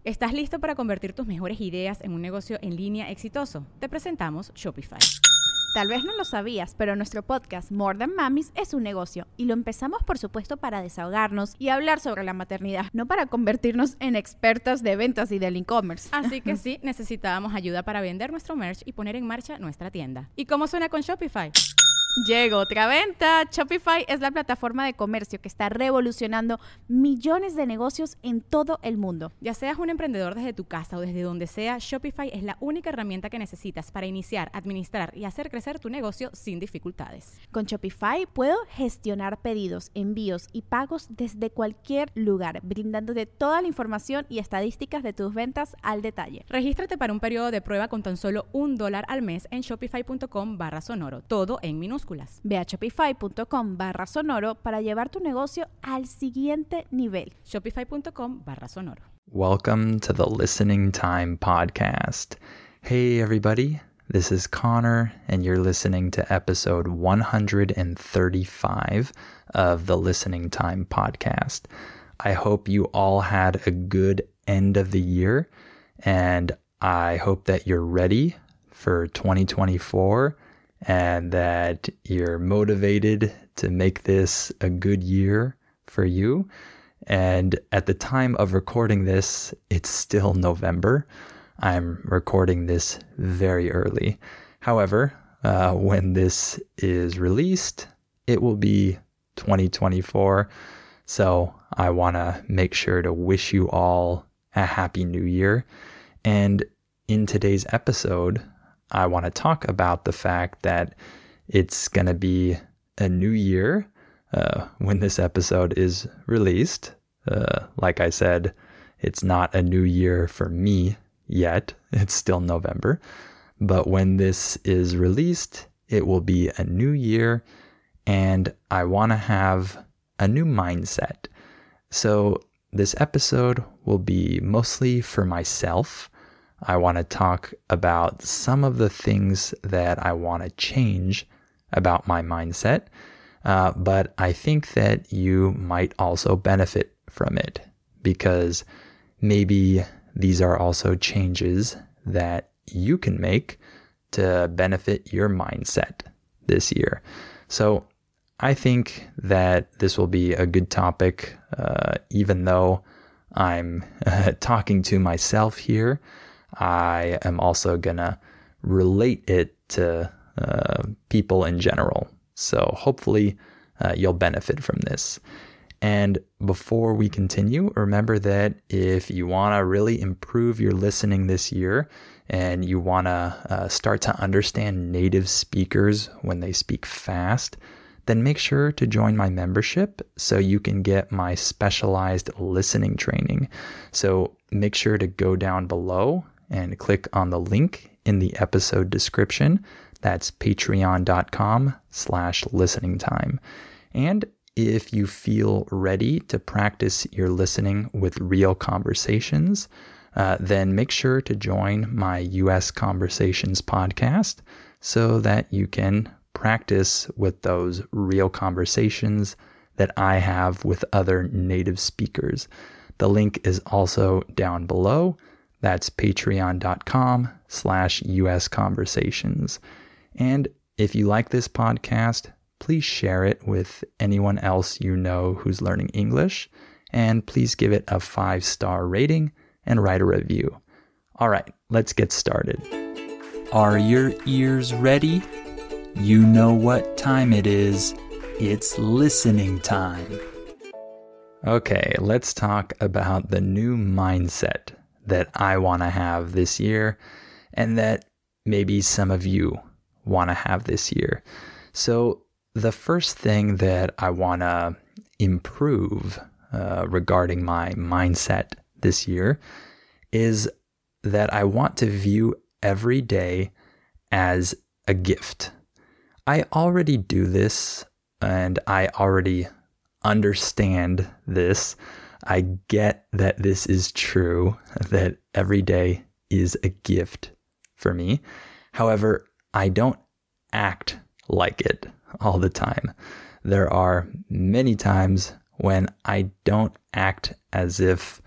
¿Estás listo para convertir tus mejores ideas en un negocio en línea exitoso? Te presentamos Shopify. Tal vez no lo sabías, pero nuestro podcast More Than Mamis es un negocio y lo empezamos por supuesto para desahogarnos y hablar sobre la maternidad, no para convertirnos en expertas de ventas y del e-commerce. Así que sí, necesitábamos ayuda para vender nuestro merch y poner en marcha nuestra tienda. ¿Y cómo suena con Shopify? Llegó otra venta. Shopify es la plataforma de comercio que está revolucionando millones de negocios en todo el mundo. Ya seas un emprendedor desde tu casa o desde donde sea, Shopify es la única herramienta que necesitas para iniciar, administrar y hacer crecer tu negocio sin dificultades. Con Shopify puedo gestionar pedidos, envíos y pagos desde cualquier lugar, brindándote toda la información y estadísticas de tus ventas al detalle. Regístrate para un periodo de prueba con tan solo $1 al mes en shopify.com/sonoro, todo en minúsculas. Ve a shopify.com/sonoro para llevar tu negocio al siguiente nivel. Shopify.com/sonoro. Welcome to the Listening Time Podcast. Hey, everybody. This is Connor, and you're listening to episode 135 of the Listening Time Podcast. I hope you all had a good end of the year, and I hope that you're ready for 2024 and that you're motivated to make this a good year for you. And at the time of recording this, it's still November. I'm recording this very early. However, when this is released, it will be 2024. So I want to make sure to wish you all a happy new year. And in today's episode, I want to talk about the fact that it's going to be a new year when this episode is released. Like I said, it's not a new year for me yet. It's still November. But when this is released, it will be a new year, and I want to have a new mindset. So this episode will be mostly for myself. I want to talk about some of the things that I want to change about my mindset, but I think that you might also benefit from it because maybe these are also changes that you can make to benefit your mindset this year. So I think that this will be a good topic, even though I'm talking to myself here. I am also going to relate it to people in general. So hopefully you'll benefit from this. And before we continue, remember that if you want to really improve your listening this year and you want to start to understand native speakers when they speak fast, then make sure to join my membership so you can get my specialized listening training. So make sure to go down below and click on the link in the episode description. That's patreon.com/listeningtime. And if you feel ready to practice your listening with real conversations, then make sure to join my US Conversations podcast so that you can practice with those real conversations that I have with other native speakers. The link is also down below. That's patreon.com/US Conversations. And if you like this podcast, please share it with anyone else you know who's learning English. And please give it a 5-star rating and write a review. All right, let's get started. Are your ears ready? You know what time it is. It's listening time. Okay, let's talk about the new mindset that I want to have this year and that maybe some of you want to have this year. So the first thing that I want to improve regarding my mindset this year is that I want to view every day as a gift. I already do this and I already understand this. I get that this is true, that every day is a gift for me. However, I don't act like it all the time. There are many times when I don't act as if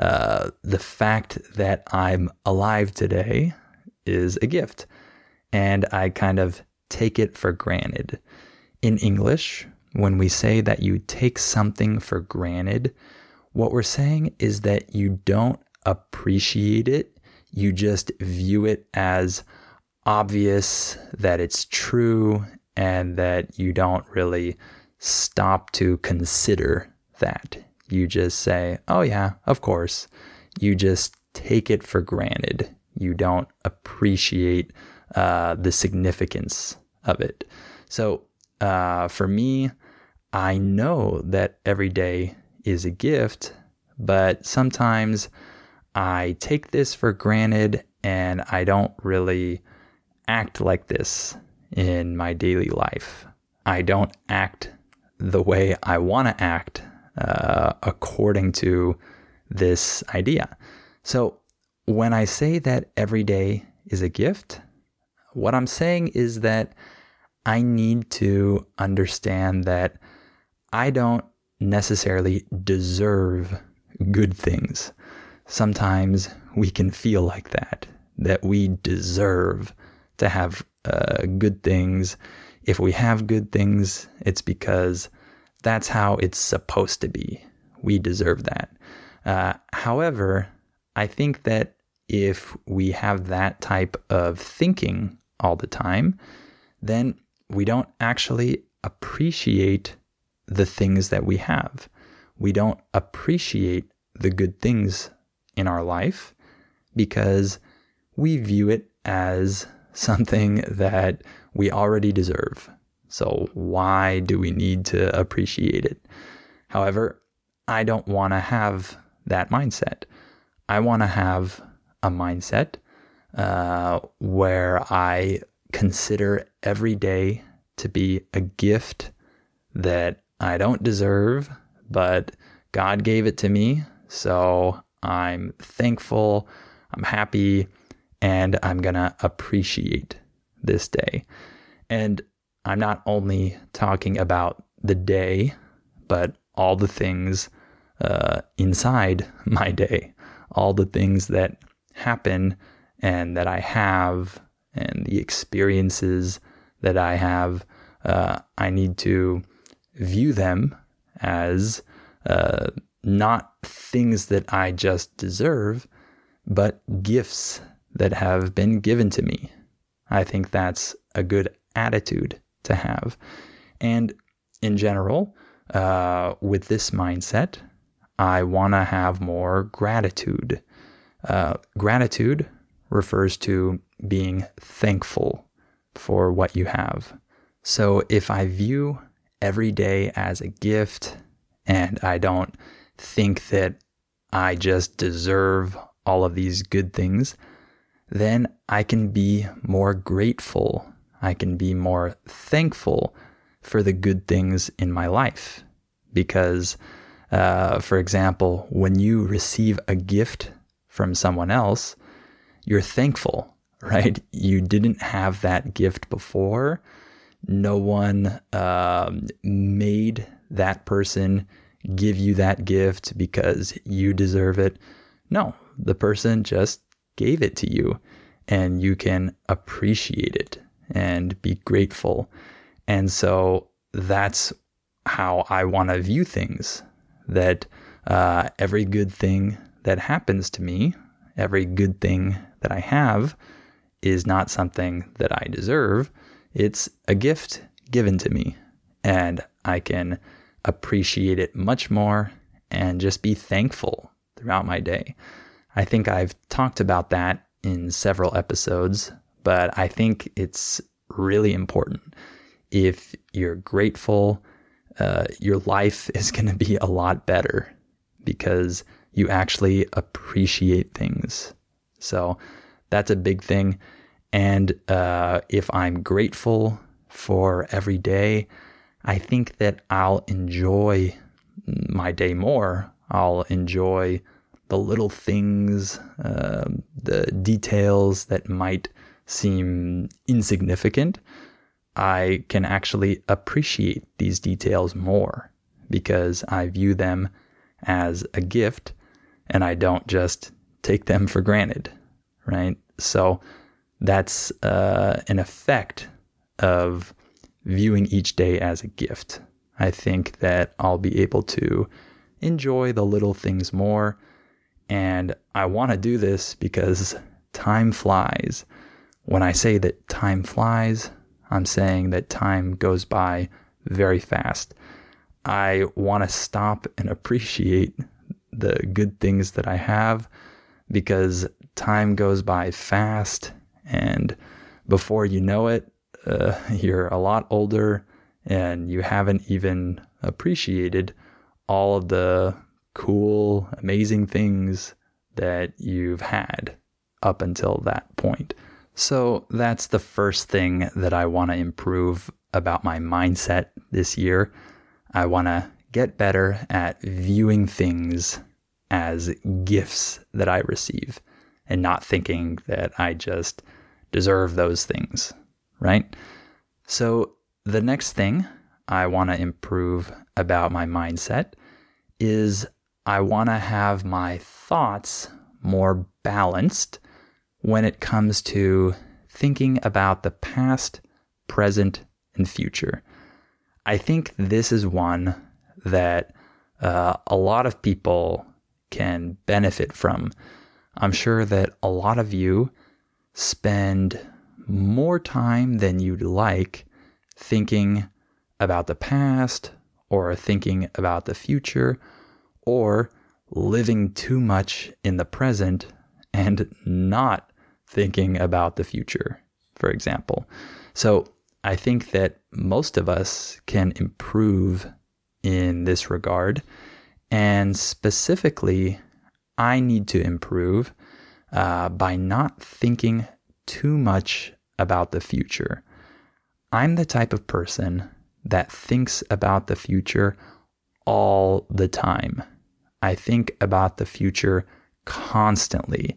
the fact that I'm alive today is a gift, and I kind of take it for granted. In English, when we say that you take something for granted, what we're saying is that you don't appreciate it. You just view it as obvious that it's true, and that you don't really stop to consider that. You just say, oh yeah, of course. You just take it for granted. You don't appreciate the significance of it. So for me, I know that every day is a gift, but sometimes I take this for granted and I don't really act like this in my daily life. I don't act the way I want to act according to this idea. So when I say that every day is a gift, what I'm saying is that I need to understand that I don't necessarily deserve good things. Sometimes we can feel like that we deserve to have good things. If we have good things, it's because that's how it's supposed to be. We deserve that. However, I think that if we have that type of thinking all the time, then we don't actually appreciate the things that we have. We don't appreciate the good things in our life because we view it as something that we already deserve. So why do we need to appreciate it? However, I don't want to have that mindset. I want to have a mindset where I consider every day to be a gift that I don't deserve, but God gave it to me. So I'm thankful, I'm happy, and I'm going to appreciate this day. And I'm not only talking about the day, but all the things inside my day, all the things that happen and that I have, and the experiences that I have. I need to view them as not things that I just deserve, but gifts that have been given to me. I think that's a good attitude to have. And in general, with this mindset, I want to have more gratitude. Gratitude refers to being thankful for what you have. So if I view every day as a gift and I don't think that I just deserve all of these good things, then I can be more grateful. I can be more thankful for the good things in my life. Because, for example, when you receive a gift from someone else, you're thankful, right? You didn't have that gift before. No one made that person give you that gift because you deserve it. No, the person just gave it to you, and you can appreciate it and be grateful. And so that's how I want to view things, that every good thing that happens to me, every good thing that I have is not something that I deserve. It's a gift given to me, and I can appreciate it much more and just be thankful throughout my day. I think I've talked about that in several episodes, but I think it's really important. If you're grateful, your life is going to be a lot better because you actually appreciate things. So that's a big thing. And if I'm grateful for every day, I think that I'll enjoy my day more. I'll enjoy the little things, the details that might seem insignificant. I can actually appreciate these details more because I view them as a gift and I don't just take them for granted, right? So that's an effect of viewing each day as a gift. I think that I'll be able to enjoy the little things more, and I want to do this because time flies. When I say that time flies, I'm saying that time goes by very fast. I want to stop and appreciate the good things that I have because time goes by fast, and before you know it, you're a lot older and you haven't even appreciated all of the cool, amazing things that you've had up until that point. So that's the first thing that I want to improve about my mindset this year. I want to get better at viewing things as gifts that I receive and not thinking that I just deserve those things, right? So the next thing I want to improve about my mindset is I want to have my thoughts more balanced when it comes to thinking about the past, present, and future. I think this is one that a lot of people can benefit from. I'm sure that a lot of you spend more time than you'd like thinking about the past or thinking about the future or living too much in the present and not thinking about the future, for example. So I think that most of us can improve in this regard. And specifically, I need to improve by not thinking too much about the future. I'm the type of person that thinks about the future all the time. I think about the future constantly.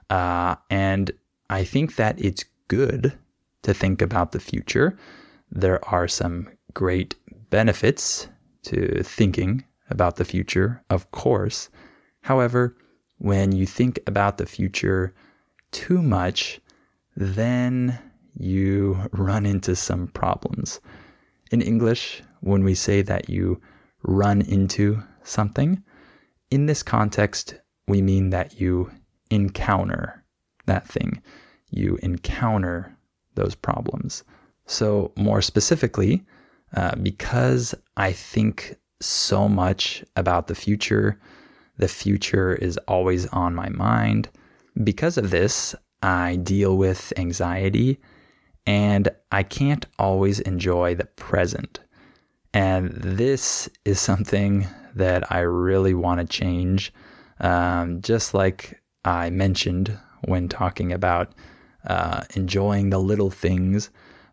And I think that it's good to think about the future. There are some great benefits to thinking about the future, of course. However, when you think about the future too much, then you run into some problems. In English, when we say that you run into something, in this context, we mean that you encounter that thing. You encounter those problems. So more specifically, because I think so much about the future is always on my mind. Because of this, I deal with anxiety and I can't always enjoy the present. And this is something that I really want to change. Just like I mentioned when talking about enjoying the little things,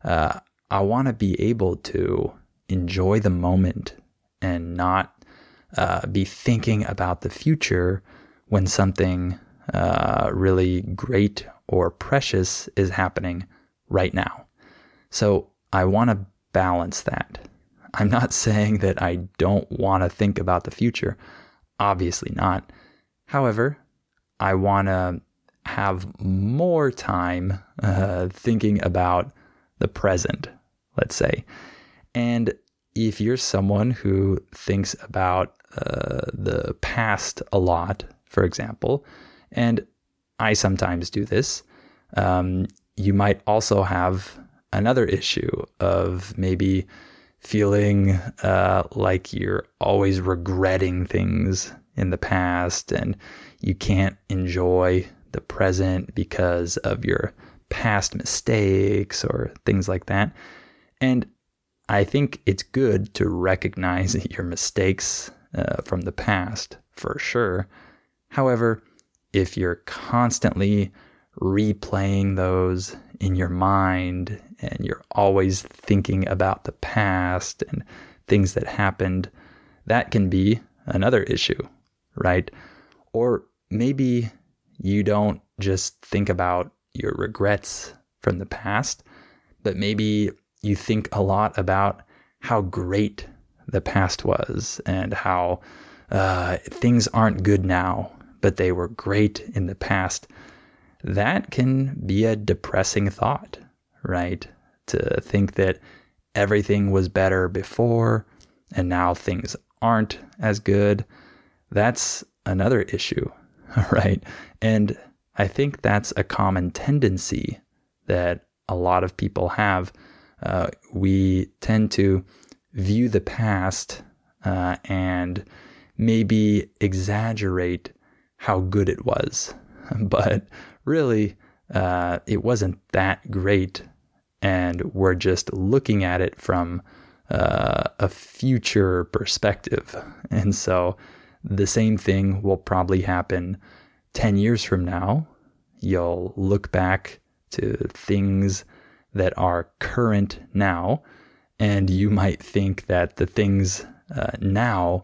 I want to be able to enjoy the moment and not be thinking about the future when something really great or precious is happening right now. So I want to balance that. I'm not saying that I don't want to think about the future. Obviously not. However, I want to have more time thinking about the present, let's say. And if you're someone who thinks about the past a lot, for example, and I sometimes do this, you might also have another issue of maybe feeling like you're always regretting things in the past and you can't enjoy the present because of your past mistakes or things like that. And I think it's good to recognize your mistakes from the past, for sure. However, if you're constantly replaying those in your mind and you're always thinking about the past and things that happened, that can be another issue, right? Or maybe you don't just think about your regrets from the past, but maybe you think a lot about how great the past was and how things aren't good now but they were great in the past, that can be a depressing thought, right? To think that everything was better before and now things aren't as good. That's another issue, right? And I think that's a common tendency that a lot of people have. We tend to view the past and maybe exaggerate how good it was. But really, it wasn't that great. And we're just looking at it from a future perspective. And so the same thing will probably happen 10 years from now. You'll look back to things that are current now, and you might think that the things now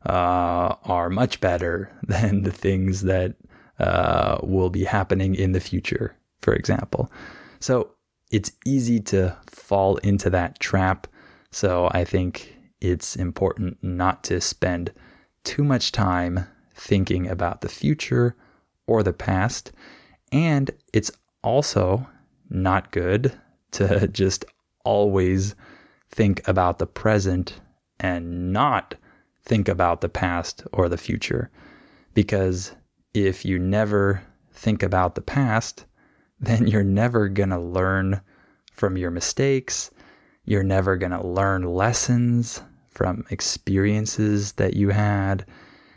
are much better than the things that will be happening in the future, for example. So it's easy to fall into that trap. So I think it's important not to spend too much time thinking about the future or the past. And it's also not good to just always think about the present and not think about the past or the future. Because if you never think about the past, then you're never going to learn from your mistakes. You're never going to learn lessons from experiences that you had.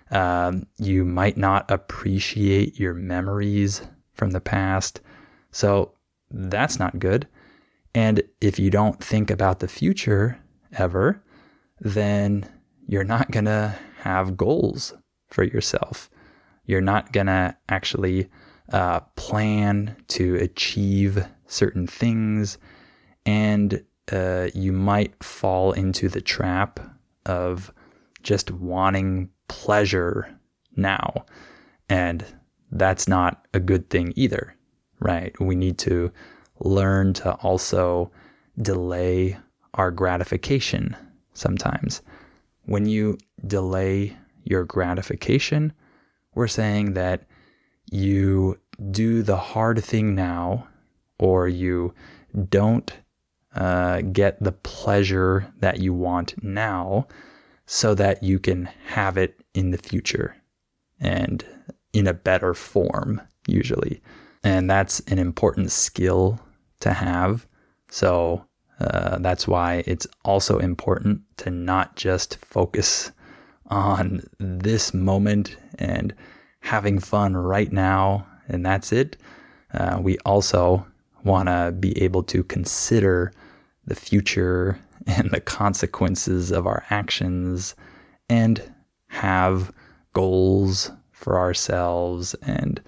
You might not appreciate your memories from the past. So that's not good. And if you don't think about the future ever, then you're not going to have goals for yourself. You're not going to actually plan to achieve certain things. And you might fall into the trap of just wanting pleasure now. And that's not a good thing either, right? We need to learn to also delay our gratification sometimes. When you delay your gratification, we're saying that you do the hard thing now, or you don't get the pleasure that you want now so that you can have it in the future and in a better form, usually. And that's an important skill to have. So that's why it's also important to not just focus on this moment and having fun right now, and that's it. We also want to be able to consider the future and the consequences of our actions and have goals for ourselves and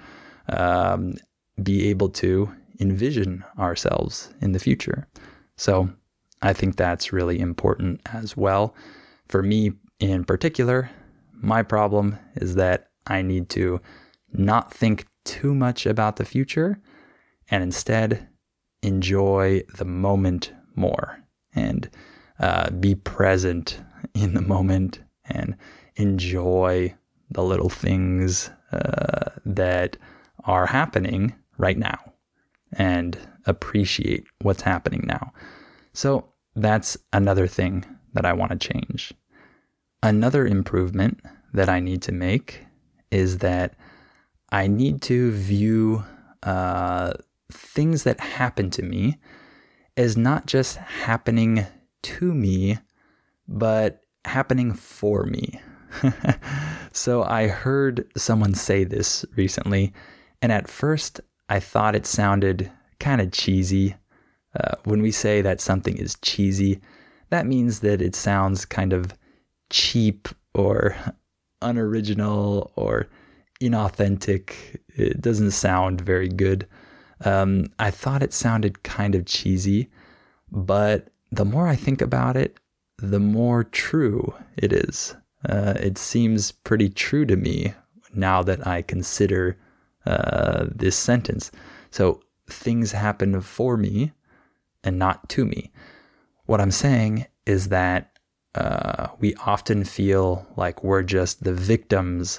be able to envision ourselves in the future. So I think that's really important as well. For me in particular, my problem is that I need to not think too much about the future and instead enjoy the moment more and be present in the moment and enjoy the little things that are happening right now and appreciate what's happening now. So that's another thing that I want to change. Another improvement that I need to make is that I need to view things that happen to me as not just happening to me, but happening for me. So I heard someone say this recently, and at first I thought it sounded kind of cheesy. When we say that something is cheesy, that means that it sounds kind of cheap or unoriginal or inauthentic. It doesn't sound very good. I thought it sounded kind of cheesy, but the more I think about it, the more true it is. It seems pretty true to me now that I consider this sentence. So things happen for me and not to me. What I'm saying is that we often feel like we're just the victims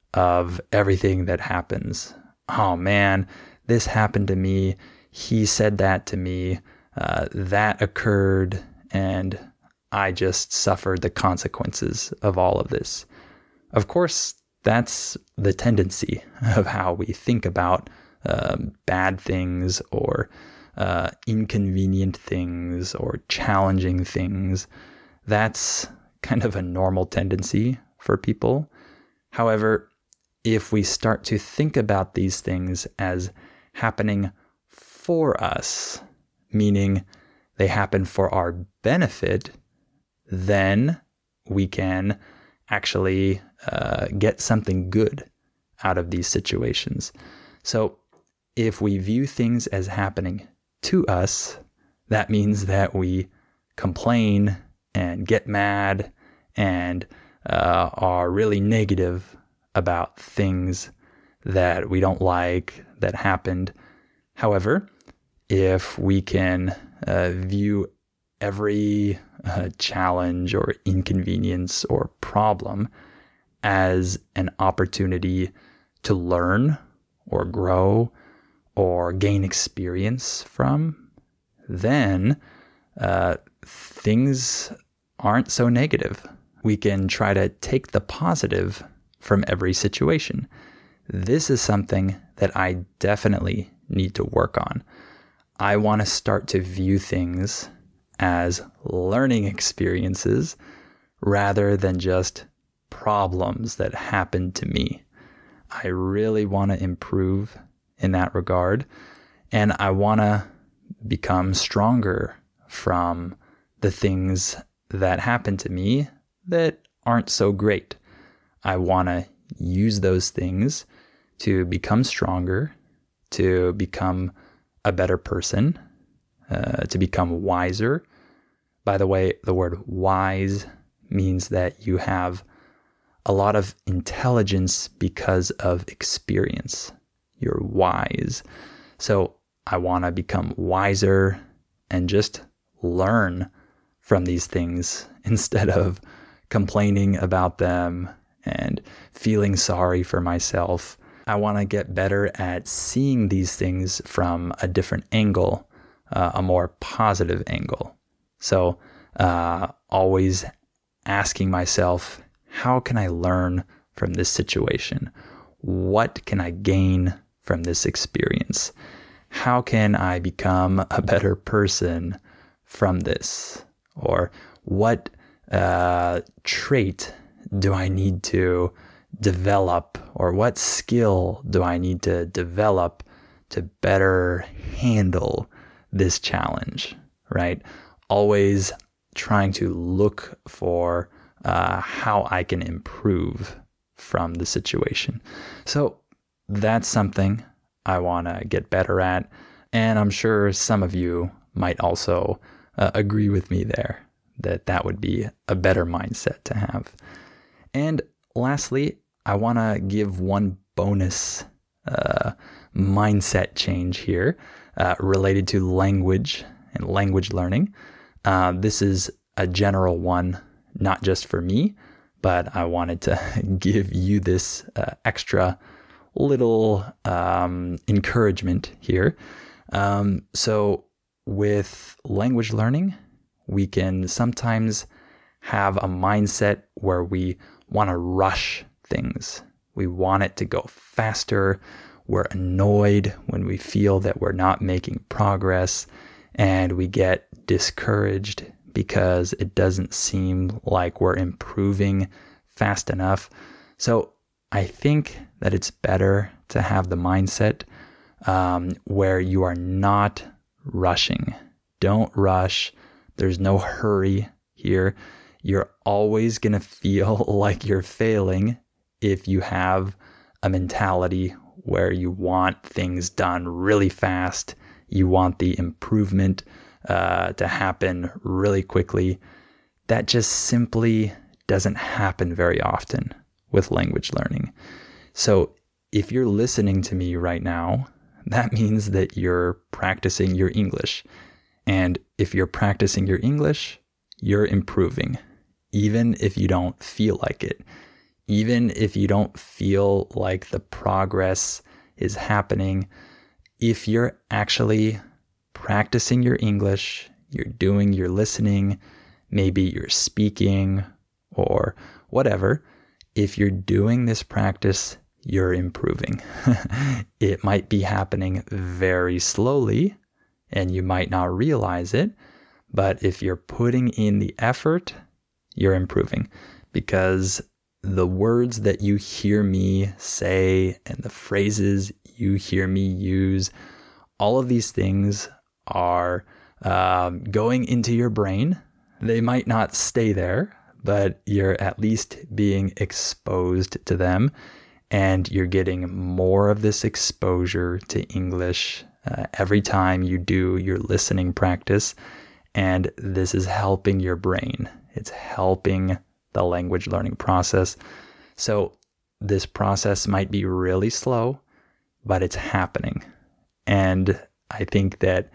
of everything that happens. Oh man, this happened to me. He said that to me. That occurred, and I just suffered the consequences of all of this. Of course, that's the tendency of how we think about bad things or inconvenient things or challenging things. That's kind of a normal tendency for people. However, if we start to think about these things as happening for us, meaning they happen for our benefit, then we can actually get something good out of these situations. So if we view things as happening to us, that means that we complain and get mad and are really negative about things that we don't like that happened. However, if we can view every challenge or inconvenience or problem as an opportunity to learn or grow or gain experience from, then things aren't so negative. We can try to take the positive from every situation. This is something that I definitely need to work on. I want to start to view things as learning experiences rather than just problems that happen to me. I really want to improve in that regard, and I want to become stronger from the things that happen to me that aren't so great. I want to use those things to become stronger, to become a better person, to become wiser. By the way, the word wise means that you have a lot of intelligence because of experience. You're wise. So I want to become wiser and just learn from these things instead of complaining about them and feeling sorry for myself. I want to get better at seeing these things from a different angle, a more positive angle. So always asking myself, how can I learn from this situation? What can I gain from this experience? How can I become a better person from this? Or what trait do I need to develop, or what skill do I need to develop to better handle this challenge, right? Always trying to look for how I can improve from the situation. So that's something I want to get better at. And I'm sure some of you might also agree with me there that that would be a better mindset to have. And lastly, I want to give one bonus mindset change here related to language and language learning. This is a general one, not just for me, but I wanted to give you this extra little encouragement here. So with language learning, we can sometimes have a mindset where we want to rush things. We want it to go faster. We're annoyed when we feel that we're not making progress, and we get discouraged because it doesn't seem like we're improving fast enough. So I think that it's better to have the mindset where you are not rushing. Don't rush. There's no hurry here. You're always going to feel like you're failing if you have a mentality where you want things done really fast. You want the improvement to happen really quickly. That just simply doesn't happen very often with language learning. So if you're listening to me right now, that means that you're practicing your English. And if you're practicing your English, you're improving, even if you don't feel like it. even if you don't feel like the progress is happening, if you're actually practicing your English, you're doing your listening, maybe you're speaking or whatever, if you're doing this practice, you're improving. It might be happening very slowly and you might not realize it, but if you're putting in the effort, you're improving, because the words that you hear me say and the phrases you hear me use, all of these things are going into your brain. They might not stay there, but you're at least being exposed to them, and you're getting more of this exposure to English every time you do your listening practice. And this is helping your brain. It's helping the language learning process. So this process might be really slow, but it's happening. And I think that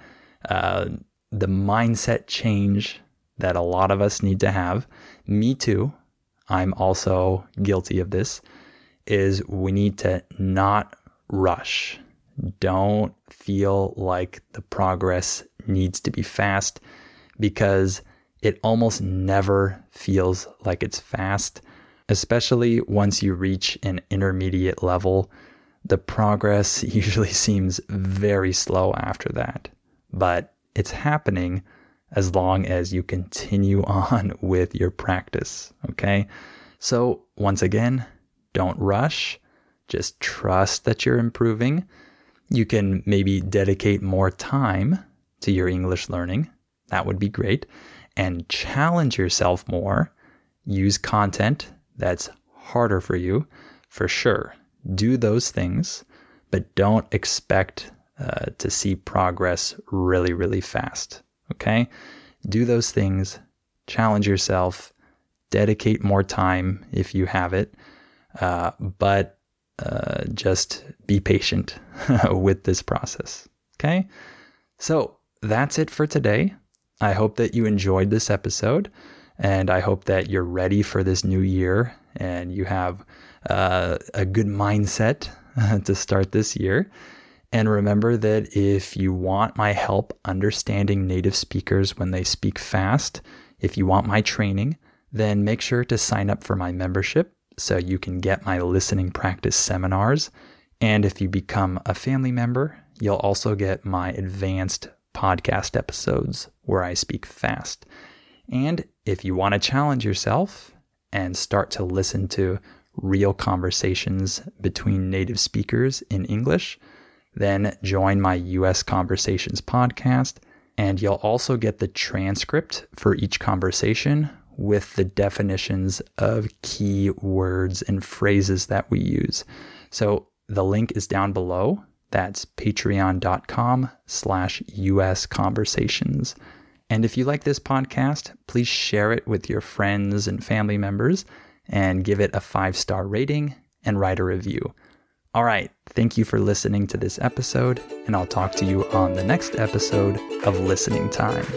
the mindset change that a lot of us need to have, me too, I'm also guilty of this, is we need to not rush. Don't feel like the progress needs to be fast, because it almost never feels like it's fast, especially once you reach an intermediate level. The progress usually seems very slow after that, but it's happening as long as you continue on with your practice, okay? So once again, don't rush. Just trust that you're improving. You can maybe dedicate more time to your English learning. That would be great. And challenge yourself more. Use content that's harder for you, for sure. Do those things, but don't expect to see progress really, really fast, okay? Do those things, challenge yourself, dedicate more time if you have it, but just be patient with this process, okay? So that's it for today. I hope that you enjoyed this episode, and I hope that you're ready for this new year and you have a good mindset to start this year. And remember that if you want my help understanding native speakers when they speak fast, if you want my training, then make sure to sign up for my membership so you can get my listening practice seminars. And if you become a family member, you'll also get my advanced podcast episodes where I speak fast. And if you want to challenge yourself and start to listen to real conversations between native speakers in English, then join my US Conversations podcast, and you'll also get the transcript for each conversation with the definitions of key words and phrases that we use. So the link is down below. That's patreon.com/US Conversations. And if you like this podcast, please share it with your friends and family members and give it a 5-star rating and write a review. All right. Thank you for listening to this episode, and I'll talk to you on the next episode of Listening Time.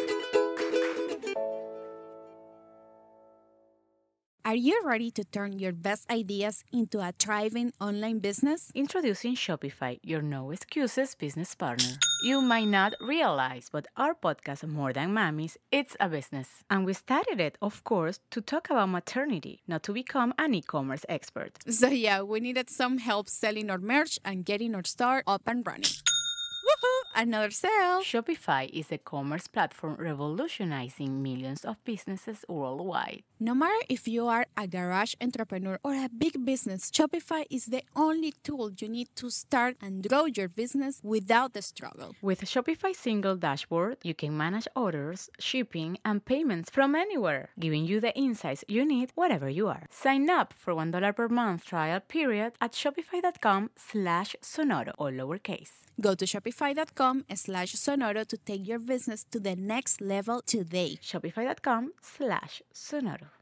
Are you ready to turn your best ideas into a thriving online business? Introducing Shopify, your no excuses business partner. You might not realize, but our podcast, More Than Mommies, it's a business. And we started it, of course, to talk about maternity, not to become an e-commerce expert. So yeah, we needed some help selling our merch and getting our store up and running. Woohoo! Another sale! Shopify is a commerce platform revolutionizing millions of businesses worldwide. No matter if you are a garage entrepreneur or a big business, Shopify is the only tool you need to start and grow your business without the struggle. With Shopify's single dashboard, you can manage orders, shipping, and payments from anywhere, giving you the insights you need wherever you are. Sign up for $1 per month trial period at shopify.com/sonoro, all lowercase. Go to shopify.com/sonoro to take your business to the next level today. Shopify.com/sonoro.